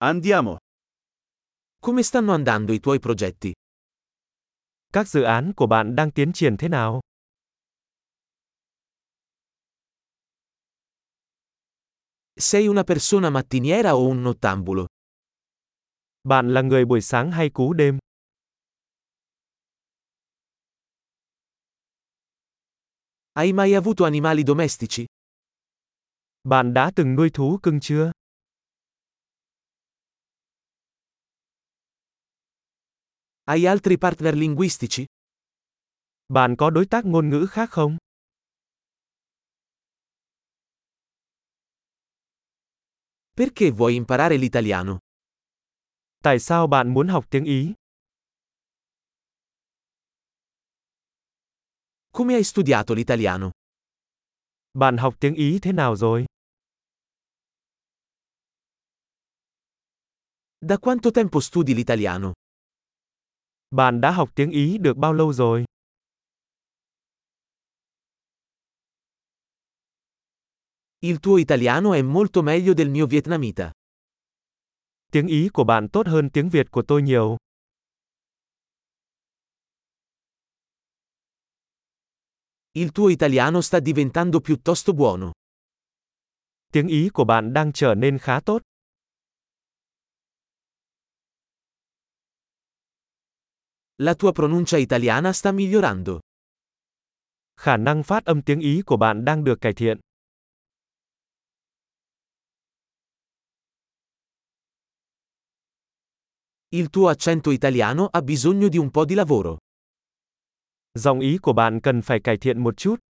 Andiamo. Come stanno andando i tuoi progetti? Các dự án của bạn đang tiến triển thế nào? Sei una persona mattiniera o un nottambulo? Bạn là người buổi sáng hay cú đêm? Hai mai avuto animali domestici? Bạn đã từng nuôi thú cưng chưa? Hai altri partner linguistici? Bạn có đối tác ngôn ngữ khác không? Perché vuoi imparare l'italiano? Tại sao bạn muốn học tiếng Ý? Come hai studiato l'italiano? Bạn học tiếng Ý thế nào rồi? Da quanto tempo studi l'italiano? Bạn đã học tiếng Ý được bao lâu rồi? Il tuo italiano è molto meglio del mio vietnamita. Tiếng Ý của bạn tốt hơn tiếng Việt của tôi nhiều. Il tuo italiano sta diventando piuttosto buono. Tiếng Ý của bạn đang trở nên khá tốt. La tua pronuncia italiana sta migliorando. Khả năng phát âm tiếng Ý của bạn đang được cải thiện. Il tuo accento italiano ha bisogno di un po' di lavoro. Giọng Ý của bạn cần phải cải thiện một chút.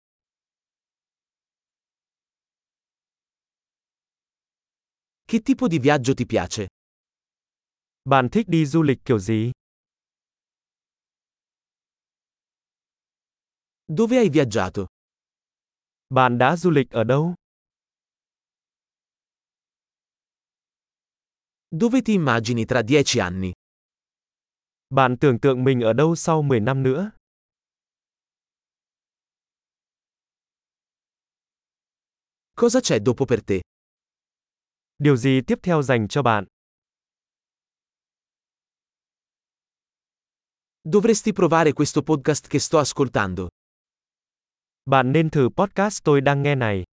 Che tipo di viaggio ti piace? Bạn thích đi du lịch kiểu gì? Dove hai viaggiato? Bạn đã du lịch ở đâu? Dove ti immagini tra 10 anni? Bạn tưởng tượng mình ở đâu sau 10 năm nữa? Cosa c'è dopo per te? Điều gì tiếp theo dành cho bạn? Dovresti provare questo podcast che sto ascoltando. Bạn nên thử podcast tôi đang nghe này.